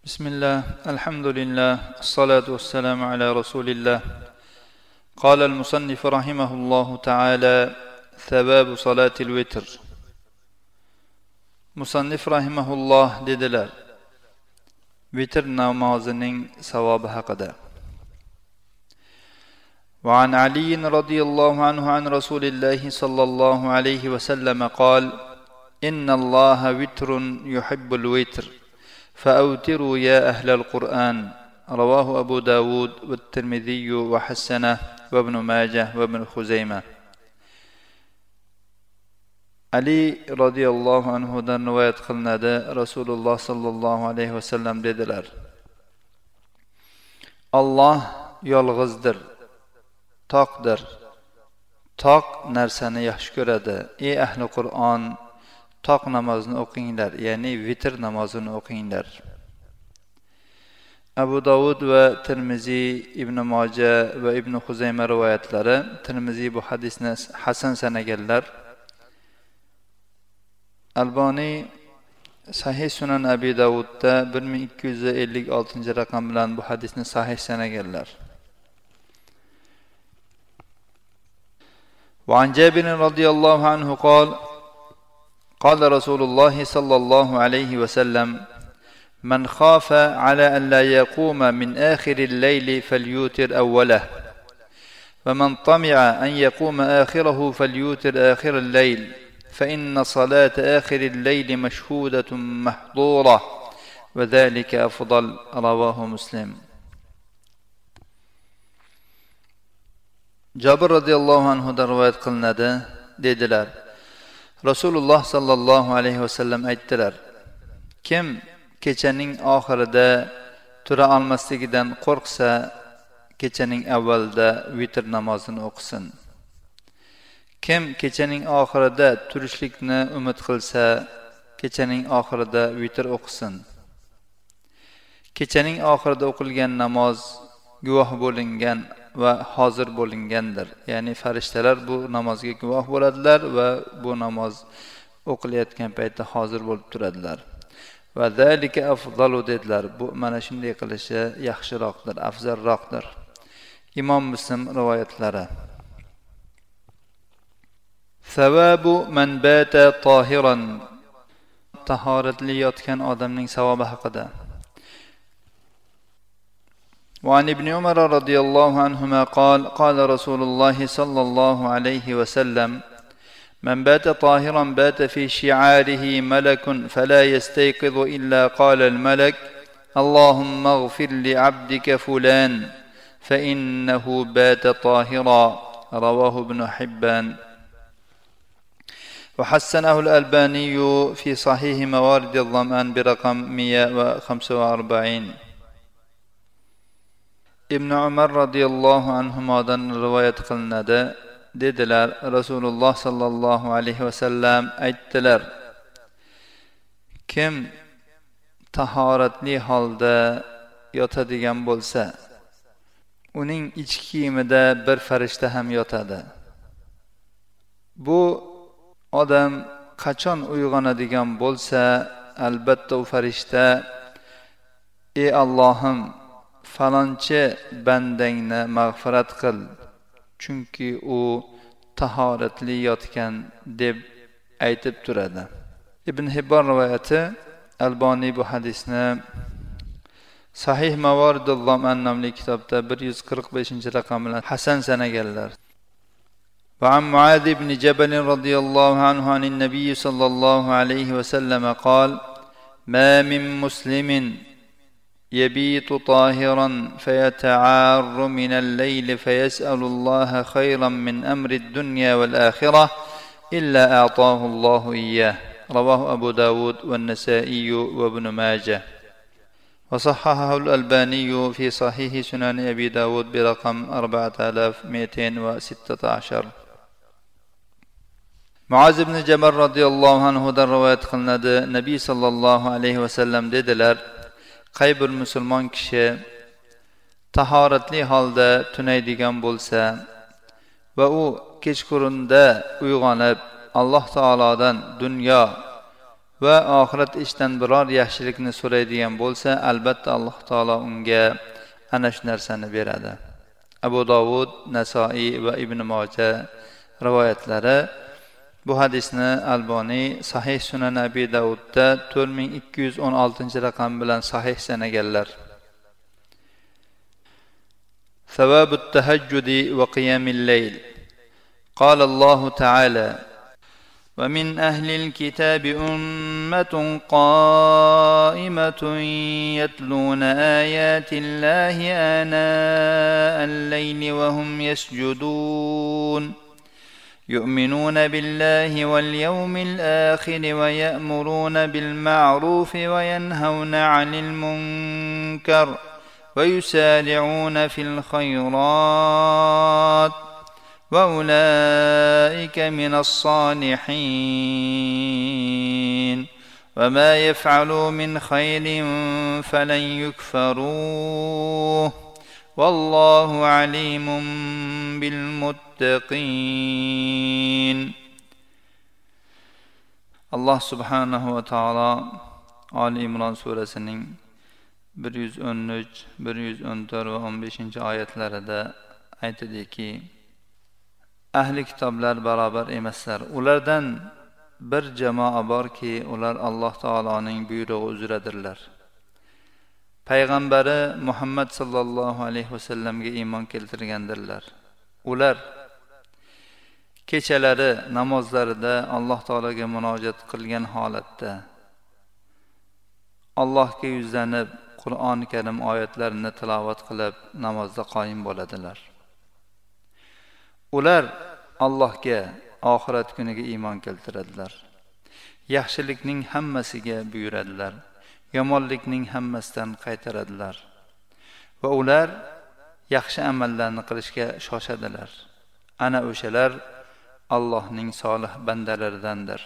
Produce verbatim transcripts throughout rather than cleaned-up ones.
بسم الله الحمد لله الصلاة والسلام على رسول الله قال المصنف رحمه الله تعالى ثواب صلاة الوتر مصنف رحمه الله dediler vitr namazının savabı haqida وعن علي رضي الله عنه عن رسول الله صلى الله عليه وسلم قال إن الله وتر يحب الوتر فأوتروا يا أهل القرآن رواه أبو داود والترمذي وحسنه وابن ماجه وابن خزيمة. علي رضي الله عنه dan rivoyat qilinadi, Rasululloh sallallohu alayhi vasallam dedilar: Alloh yolg'izdir, toqdir. Toq narsani yaxshi ko'radi. Ey ahli Qur'on, toq namozni o'qinglar, ya'ni vitr namozini o'qinglar. Abu Dovud va Tirmiziy, Ibn Moja va Ibn Xuzayma rivoyatlari. Tirmiziy bu hadisni hasan sanaganlar. Alboniy Sahih Sunan Abi Dovudda bir ming ikki yuz ellik oltinchi raqam bilan bu hadisni sahih sanaganlar. وعن جابر رضي الله عنه قال قال رسول الله صلى الله عليه وسلم من خاف على أن لا يقوم من آخر الليل فليوتر أوله ومن طمع أن يقوم آخره فليوتر آخر الليل فإن صلاة آخر الليل مشهودة محظورة وذلك أفضل رواه مسلم. Jabir radhiyallohu anhu dan rivoyat qilinadi, dedilar: Rasululloh sallallohu alayhi vasallam aytdilar: Kim kechaning oxirida tura olmasligidan qo'rqsa, kechaning avvalida vitr namozini o'qisin. Kim kechaning oxirida turishlikni umid qilsa, kechaning oxirida vitr o'qisin. Kechaning oxirida o'qilgan namoz guvoh bo'lingan va hozir bo'lingandir. Ya'ni farishtalar bu namozga guvoh bo'ladilar va bu namoz o'qilayotgan paytda hozir bo'lib turadilar. Va zalika afdalu dedilar. Bu mana shunday qilishi yaxshiroqdir, afzalroqdir. Imom Muslim rivoyatlari. Savabu man bata tahiran. Tahoratli yotgan odamning savobi haqida. وعن ابن عمر رضي الله عنهما قال قال رسول الله صلى الله عليه وسلم من بات طاهرا بات في شعاره ملك فلا يستيقظ إلا قال الملك اللهم اغفر لعبدك فلان فإنه بات طاهرا رواه ابن حبان وحسنه الألباني في صحيح موارد الظمآن برقم مئة وخمسة وأربعين. Ibn Umar radhiyallohu anhudan rivoyat qilinadi, dedilar: Rasululloh sallallohu alayhi vasallam aytdilar: Kim tahoratli holda yotadigan bo'lsa, uning ichki kiyimida bir farishta ham yotadi. Bu odam qachon uyg'onadigan bo'lsa, albatta u farishta: Ey Allohim, falonchi bandangni mag'firat qil, chunki u tahoratli yotgan deb aytib turadi. Ibn Hibbon rivoyati. Alboniy bu hadisni Sahih Mavaridul Zaman nomli kitobda bir yuz qirq beshinchi raqam bilan hasan sanaganlar. Va an Muaz ibn Jabal radhiyallohu anhu anin nabiy sallallohu alayhi va sallam qol: Ma min muslimin يبيت طاهرا فيتعار من الليل فيسأل الله خيرا من أمر الدنيا والآخرة إلا أعطاه الله إياه رواه أبو داود والنسائي وابن ماجه وصححه الألباني في صحيح سنن أبي داود برقم أربعة آلاف ومئتين وستة عشر. Muaz ibn Jabal radhiyallohu anhu dan rivoyat qilinadi, Nabiy sallallohu alayhi vasallam dedilar: Qay bir musulmon kishi tahoratli holda tunaydigan bo'lsa va u kechqurunda uyg'onib Alloh taolodan dunyo va oxirat ishdan biror yaxshilikni so'raydigan bo'lsa, albatta Alloh taolo unga ana shu narsani beradi. Abu Dovud, Nasoiy va Ibn Majah rivoyatlari. Bu hadisni Alboniy Sahih Sunan Abi Davudda to'rt ming ikki yuz o'n oltinchi raqam bilan sahih sanaganlar. ثواب التهجد وقيام الليل. قال الله تعالى: ومن أهل الكتاب أمة قائمة يتلون آيات الله آناء الليل وهم يسجدون يؤمنون بالله واليوم الآخر ويأمرون بالمعروف وينهون عن المنكر ويسارعون في الخيرات وأولئك من الصالحين وما يفعلوا من خير فلن يكفروه والله عليم بالمتقين. Allah subhanahu wa ta'ala Ali İmran surəsinin bir yuz o'n uch, bir yuz o'n to'rt va o'n beshinchi oyatlarida aytadiki: ahli kitoblar barobar emaslar. Ulardan bir jamoa borki, ular Alloh taoloning buyrug'i uzradirlar. Payg'ambari Muhammad sallallohu alayhi vasallamga iymon keltirgandirlar. Ular kechalari namozlarida Alloh taologa munojat qilgan holatda Allohga yuzlanib Qur'oni Karim oyatlarini tilovat qilib namozda qoyim bo'ladilar. Ular Allohga, oxirat kuniga iymon keltiradilar. Yaxshilikning hammasiga buyuradilar. Yomonlikning hammasidan qaytaradilar. Va ular yaxshi amallarni qilishga shoshadilar. Ana o'shalar Allohning solih bandalaridandir.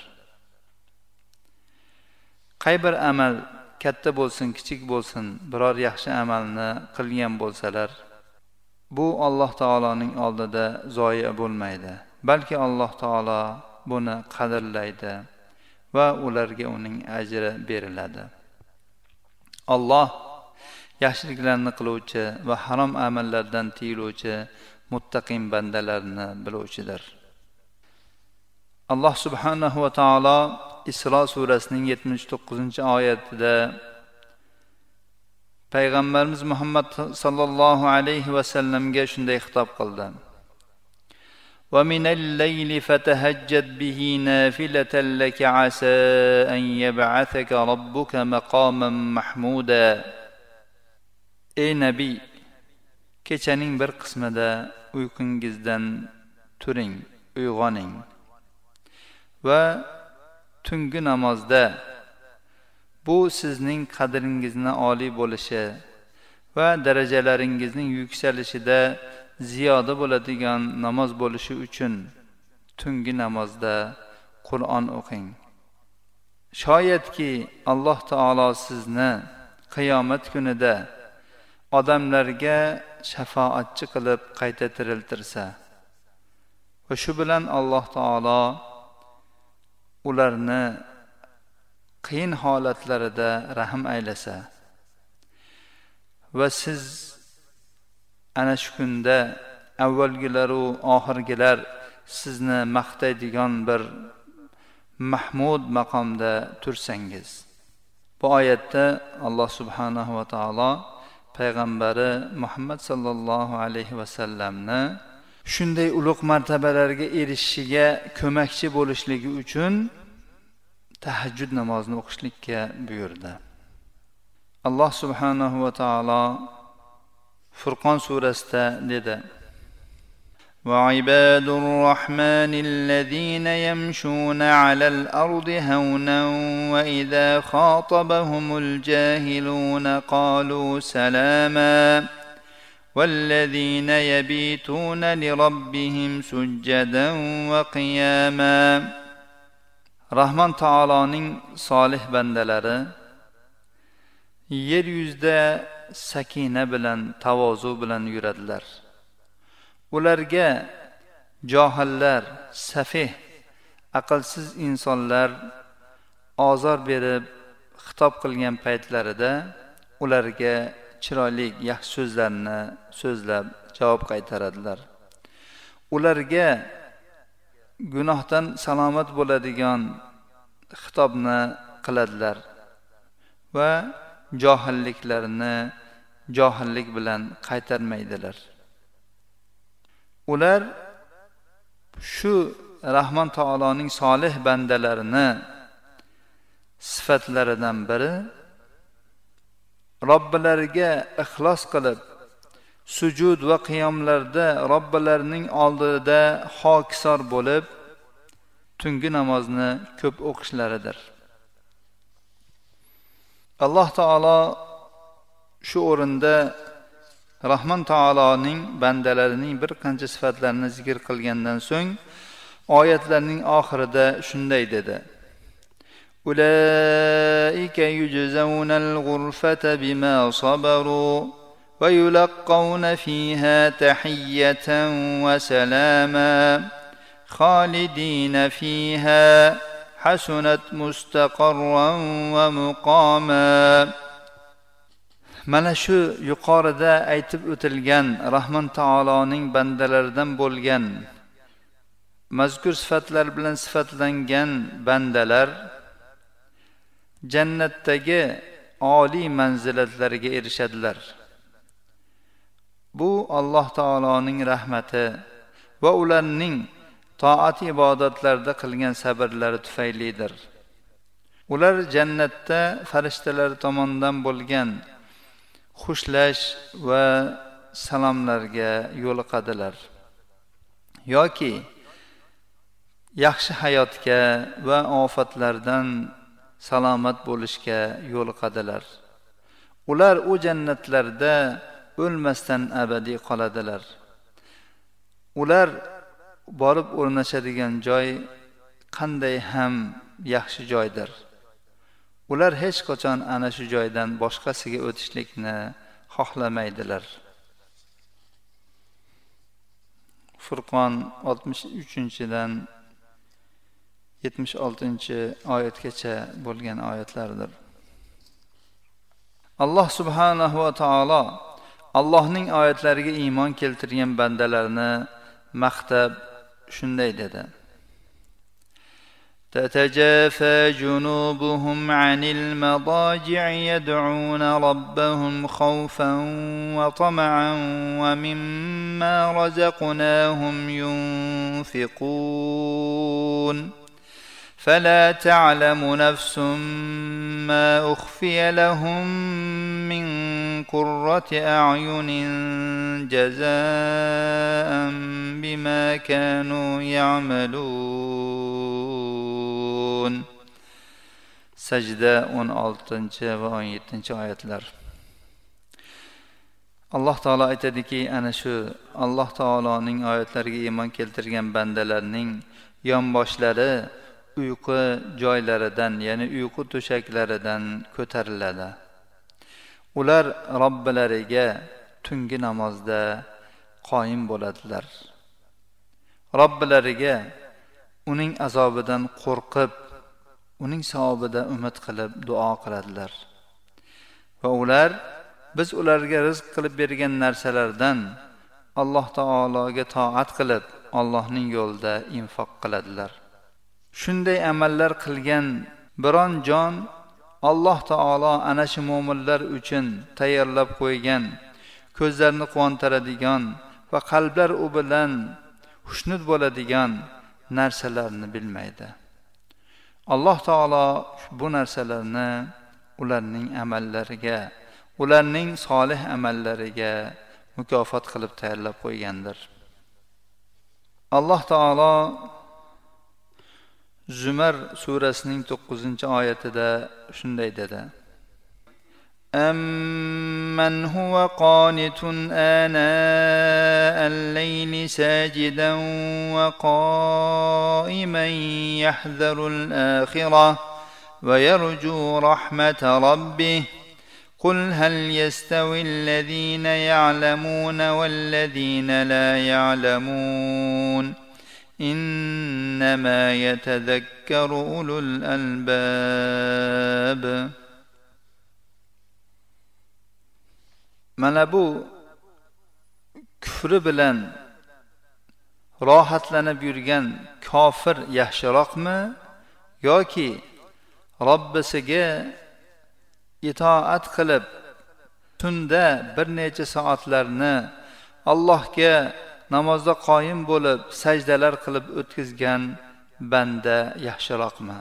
Qay bir amal katta bo'lsin, kichik bo'lsin, biror yaxshi amalni qilgan bo'lsalar, bu Alloh taoloning oldida zoya bo'lmaydi, balki Alloh taolo buni qadrlaydi va ularga uning ajri beriladi. Alloh yaxshiliklarni qiluvchi va harom amallardan tiyiluvchi muttaqin bandalarni biluvchidir. Alloh subhanahu va taolo Isro surasining yetmish to'qqizinchi oyatida Payg'ambarimiz Muhammad sallallohu alayhi va sallamga shunday xitob qildi: "Va minal layli fatahajjad bihi nafilatan laka asa an yab'athaka robbuka maqaman mahmuda." Ey nabiy, kechaning bir qismida uyqungizdan turing, uyg'oning va tungi namozda bu sizning qadringizni oliy bo'lishi va darajalaringizning yuksalishida ziyoda bo'ladigan namoz bo'lishi uchun tungi namozda Qur'on o'qing. Shoyatki Alloh taolo sizni qiyomat kunida odamlarga shafoatchi qilib qayta tiriltirsa va shu bilan Alloh taolo ularni qiyin holatlarida rahim aylasa va siz ana shu kunda avvalgilar va oxirgilar sizni maqtaydigan bir mahmud maqomda tursangiz. Bu oyatda Alloh subhanahu va taolo payg'ambari Muhammad sallallohu alayhi va sallamni shunday ulug' martabalarga erishishiga ko'makchi bo'lishligi uchun tahajjud namozini o'qishlikka buyurdi. Alloh subhanahu va taolo Furqon surasida dedi: "Va ibadur rahmanillazina yamshuna alal ardi hawnan va idza khatabahumul jahiluna qalu salama والذين يبيتون لربهم سجدا وقياما." Rahman taoloning solih bandalari yer yuzida sakina bilan, tavozu bilan yuradilar. Ularga johillar, safih, aqlsiz insonlar ozor berib xitob qilgan paytlarida ularga chiroyli yaxshi so'zlarni so'zlab javob qaytaradilar. Ularga gunohdan salomat bo'ladigan xitobni qiladilar va johilliklarini johillik bilan qaytarmaydilar. Ular shu Rahmon taoloning solih bandalarini sifatlaridan biri Robbilariga ixlos qilib sujud va qiyomlarda Robbilarining oldida hokisor bo'lib tungi namozni ko'p o'qishlaridir. Alloh taolo shu o'rinda Rahmon taoloning bandalarining bir qancha sifatlarini zikr qilgandan so'ng oyatlarning oxirida shunday dedi: Ulaika yujzaunal ghurfata bima sabaru va yulqauna fiha tahiyatan wa salama khalidina fiha hasunat mustaqarran va muqama. Mana shu yuqorida aytib o'tilgan Rahmon taoloning bandalaridan bo'lgan mazkur sifatlar bilan sifatlangan bandalar jannatdagi oliy manzilatlarga erishadilar. Bu Alloh taoloning rahmati va ularning toat ibodatlarda qilgan sabrlari tufaylidir. Ular jannatda farishtalar tomonidan bo'lgan xushlash va salomlarga yo'liqadilar yoki yaxshi hayotga va ofatlardan salomat bo'lishga yo'liqadilar. Ular u jannatlarda o'lmasdan abadiy qoladilar. Ular borib o'rnashadigan joy qanday ham yaxshi joydir. Ular hech qachon ana shu joydan boshqasiga o'tishlikni xohlamaydilar. Furqon oltmish uchinchidan yetmish oltinchi oyatgacha bo'lgan oyatlardir. Alloh subhanahu va taolo Allohning oyatlariga iymon keltirgan bandalarni maqtab shunday dedi: تتجافى جنوبهم عن المضاجع يدعون ربهم خوفا وطمعا ومما رزقناهم ينفقون فلا تعلم نفس ما أخفي لهم من قرة أعين جزاء بما كانوا يعملون. Sajda o'n oltinchi va o'n yettinchi oyatlar. Alloh taolo aytadiki, ana shu Alloh taoloning oyatlariga iymon keltirgan bandalarning yonboshlari uyqu joylaridan, ya'ni uyqu to'shaklaridan ko'tariladi. Ular Robbilariga tungi namozda qoyim bo'ladilar. Robbilariga uning azobidan qo'rqib, uning savobida umid qilib duo qiladilar. Va ular biz ularga rizq qilib bergan narsalardan Alloh taologa toat qilib, Allohning yo'lida infoq qiladilar. Shunday amallar qilgan biron jon Alloh taolo ana shu mu'minlar uchun tayyorlab qo'ygan, ko'zlarni quvontiradigan va qalblar u bilan xushnud bo'ladigan narsalarni bilmaydi. Alloh taolo bu narsalarni ularning amallariga, ularning solih amallariga mukofot qilib tayyorlab qo'ygandir. Alloh taolo Zumar surasining to'qqizinchi oyatida shunday dedi: أَمَّنْ هُوَ قَانِتٌ آنَاءَ اللَّيْلِ سَاجِدًا وَقَائِمًا يَحْذَرُ الْآخِرَةَ وَيَرْجُو رَحْمَةَ رَبِّهِ قُلْ هَلْ يَسْتَوِي الَّذِينَ يَعْلَمُونَ وَالَّذِينَ لَا يَعْلَمُونَ إنما يتذكر أولو الألباب. Mana bu kufri bilan rohatlanib yurgan kofir yaxshiroqmi yoki Robbisiga itoat qilib tunda bir necha soatlarni Allohga namozda qoyim bo'lib sajdalar qilib o'tkazgan banda yaxshiroqmi?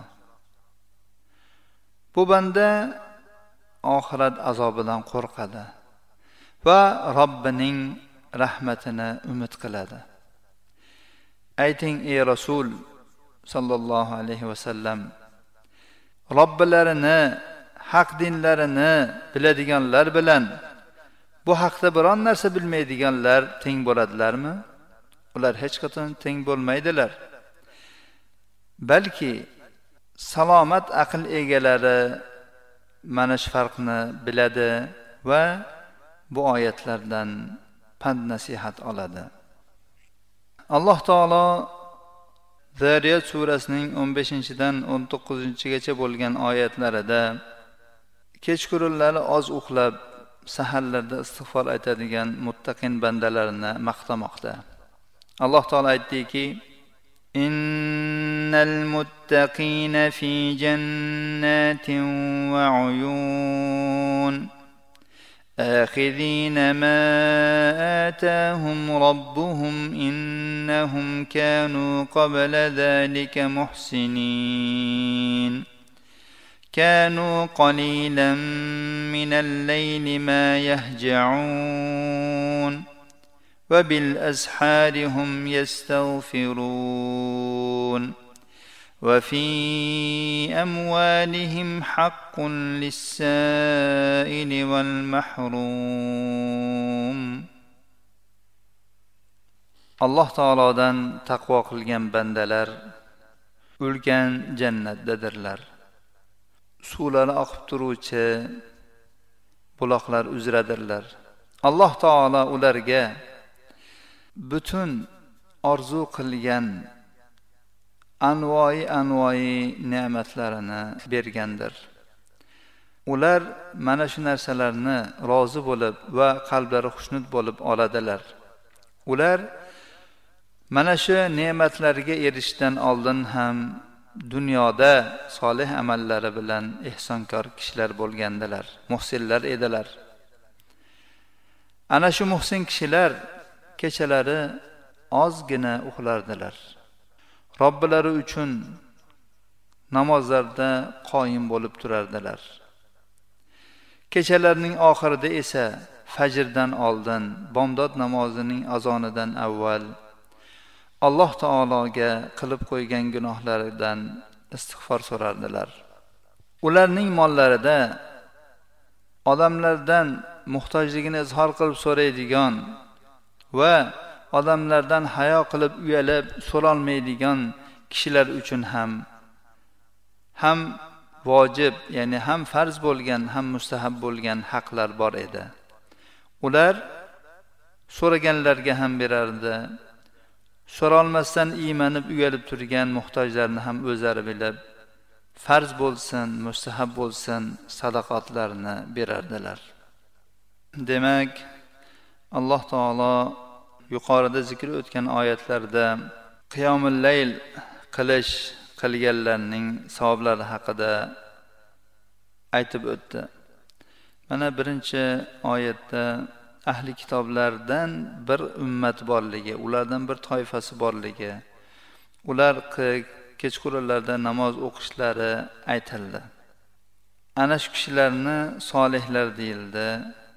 Bu banda oxirat azobidan qo'rqadi va Robbining rahmatini umid qiladi. Ayting ey Rasul sallallohu alayhi va sallam, Robbilarini, haq dinlarini biladiganlar bilan bu haqda biron narsa bilmaydiganlar teng bo'ladilarmi? Ular hech qachon teng bo'lmaydilar. Balki salomat aql egalari mana shu farqni biladi va bu oyatlardan pand nasihat oladi. Alloh taolo Zariyat surasining o'n beshinchidan o'n to'qqizinchigacha bo'lgan oyatlarida kechqurunlari oz uxlab, saharlarda istig'for aytadigan muttaqin bandalarini maqtamoqda. Alloh taolo aytdiki: Innal muttaqina fi jannatin va uyun آخذين ما آتاهم ربهم إنهم كانوا قبل ذلك محسنين كانوا قليلا من الليل ما يهجعون وبالأسحار هم يستغفرون وفي أموالهم حق للسائل والمحروم. Alloh taolodan taqvo qilgan bandalar ulkan jannatdadirlar. Suvlari oqib turuvchi buloqlar uzradirlar. Alloh taolo ularga butun orzu qilgan anvoyi anvoyi ne'matlarini bergandir. Ular mana shu narsalarni rozi bo'lib va qalblari xushnud bo'lib oladilar. Ular mana shu ne'matlarga erishishdan oldin ham dunyoda solih amallari bilan ihsonkor kishilar bo'lgandilar, muhsinlar edilar. Ana shu muhsin kishilar kechalari ozgina uxlardilar. Robbilari uchun namozlarda qoyim bo'lib turardilar. Kechalarning oxirida esa fajrdan oldin, bomdod namozining azonidan avval Alloh taologa qilib qo'ygan gunohlaridan istig'for so'rardilar. Ularning mollarida odamlardan muhtojligini izhor qilib so'raydigan va odamlardan hayo qilib uyalib so'rolmaydigan kishilar uchun ham ham vojib, ya'ni ham farz bo'lgan, ham mustahab bo'lgan haqlar bor edi. Ular so'raganlarga ham berardi. So'rolmasdan iymanib uyalib turgan muhtojlarni ham o'zlari bilib, farz bo'lsin, mustahab bo'lsin, sadaqatlarni berardilar. Demak, Alloh taolo yuqorida zikr o'tgan oyatlarda qiyomul layl qilish qilganlarning savoblari haqida aytib o'tdi. Mana birinchi oyatda ahli kitoblardan bir ummat borligi, ulardan bir toifasi borligi, ular kechqurunlarda namoz o'qishlari aytildi. Ana shu kishilarni solihlar deyildi.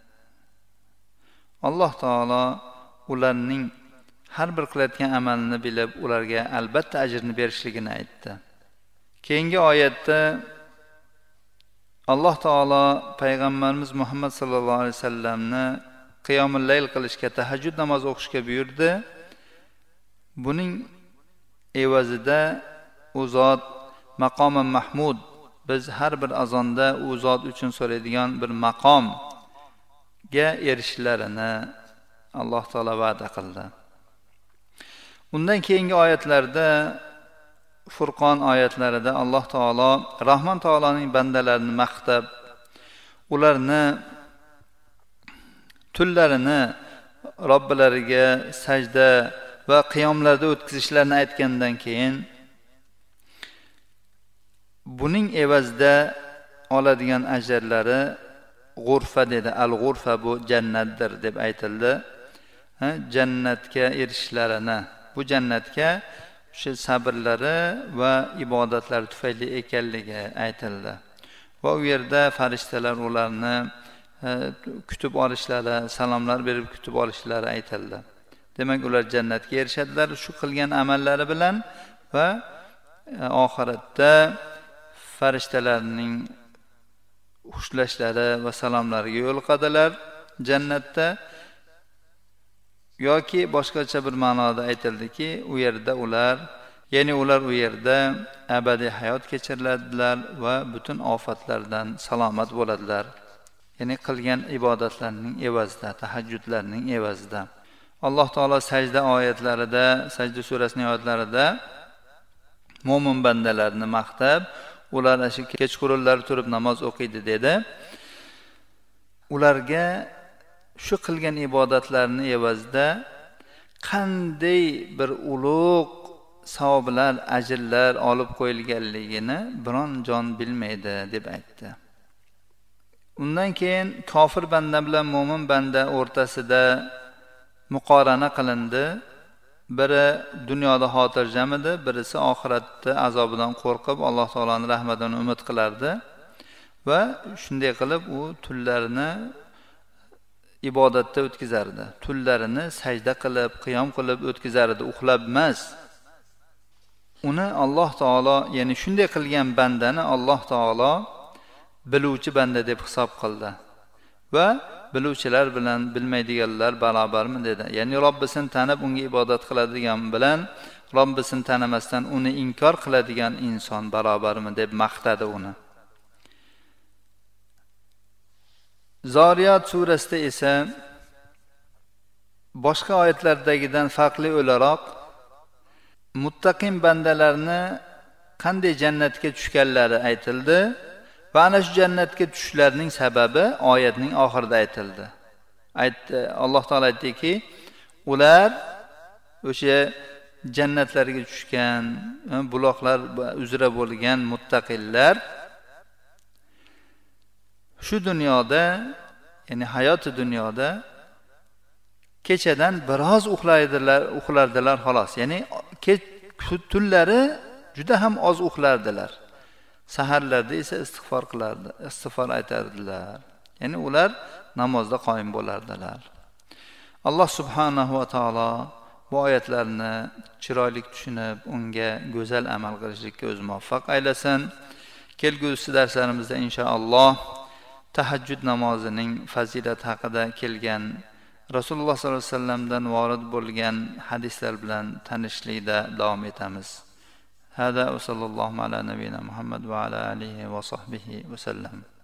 Alloh taolo ularning har bir qilayotgan amalini bilib, ularga albatta ajrni berishligini aytdi. Keyingi oyatda Alloh taolo payg'ambarimiz Muhammad sallallohu alayhi vasallamni qiyomul layl qilishga, tahajjud namoz o'qishga buyurdi. Buning evazida u zot maqomi mahmud, biz har bir azonda u zot uchun so'raydigan bir maqomga erishishlarini Alloh taolo va'da qildi. Undan keyingi oyatlarda, Furqon oyatlarida Alloh taolo Rahmon taoloning bandalarini maqtab, ularni tunlarini Robbilariga sajda va qiyomlarda o'tkazishlarini aytgandan keyin buning evazida oladigan ajrlari g'urfa dedi. Al-g'urfa bu jannatdir deb aytildi. Jannatga erishishlarini, bu jannatga o'sha sabrlari va ibodatlari tufayli ekanligi aytildi. Va u yerda farishtalar ularni kutib olishlari, salomlar berib kutib olishlari aytildi. Demak, ular jannatga erishadilar shu qilgan amallari bilan va oxiratda farishtalarning xushlashlari va salomlariga yo'liqadilar jannatda. Yoki boshqacha bir ma'noda aytildiki, u yerda ular, ya'ni ular u yerda abadiy hayot kechiradilar va butun ofatlardan salomat bo'ladilar. Ya'ni qilgan ibodatlarning evazida, tahajjudlarning evazida. Alloh taolo sajda oyatlarida, sajda surasining oyatlarida mo'min bandalarni maqtab, ular shu kechqurunlar turib namoz o'qiydi dedi. Ularga shu qilgan ibodatlarni evazida qanday bir ulug' savoblar, ajrlar olib qo'yilganligini biron jon bilmaydi deb aytdi. Undan keyin kofir banda bilan mo'min banda o'rtasida muqorana qilindi. Biri dunyoda xotirjam edi, birisi oxiratda azobidan qo'rqib Alloh taolaning rahmatidan umid qilardi va shunday qilib u tunlarini ibodatda o'tkazardi. Tunlarini sajda qilib, qiyom qilib o'tkazardi, uxlab emas. Uni Alloh taolo, ya'ni shunday qilgan bandani Alloh taolo biluvchi banda deb hisob qildi va biluvchilar bilan bilmaydiganlar barobarmi dedi. Ya'ni Robbisini tanib unga ibodat qiladigan bilan Robbisini tanimasdan uni inkor qiladigan inson barobarmi deb maqtadi uni. Zoriyat surasida esa boshqa oyatlardagidan farqli o'laroq muttaqin bandalarni qanday jannatga tushganlari aytildi. Va ana shu jannatga tushishlarining sababi oyatning oxirida aytildi. Aytdi, Alloh taolo aytdiki, ular o'sha jannatlarga tushgan, buloqlar uzra bo'lgan muttaqillar shu dunyoda, ya'ni hayoti dunyoda kechadan biroz uxlaydilar, uxlardilar xolos. Ya'ni tunlari juda ham oz uxlardilar. Saharlarda esa istig'for qilardi, istig'for aytardilar. Ya'ni ular namozda qoyim bo'lardilar. Alloh subhanahu va taolo bu oyatlarni chiroyli tushunib, unga go'zal amal qilishlikka o'zi muvaffaq aylasin. Kelgusi darslarimizda inshaalloh tahajjud namozining fazilati haqida kelgan Rasululloh sollallohu alayhi vasallamdan vorid bo'lgan hadislar bilan tanishlikda davom etamiz. هذا وصلى الله على نبينا محمد وعلى آله وصحبه وسلم.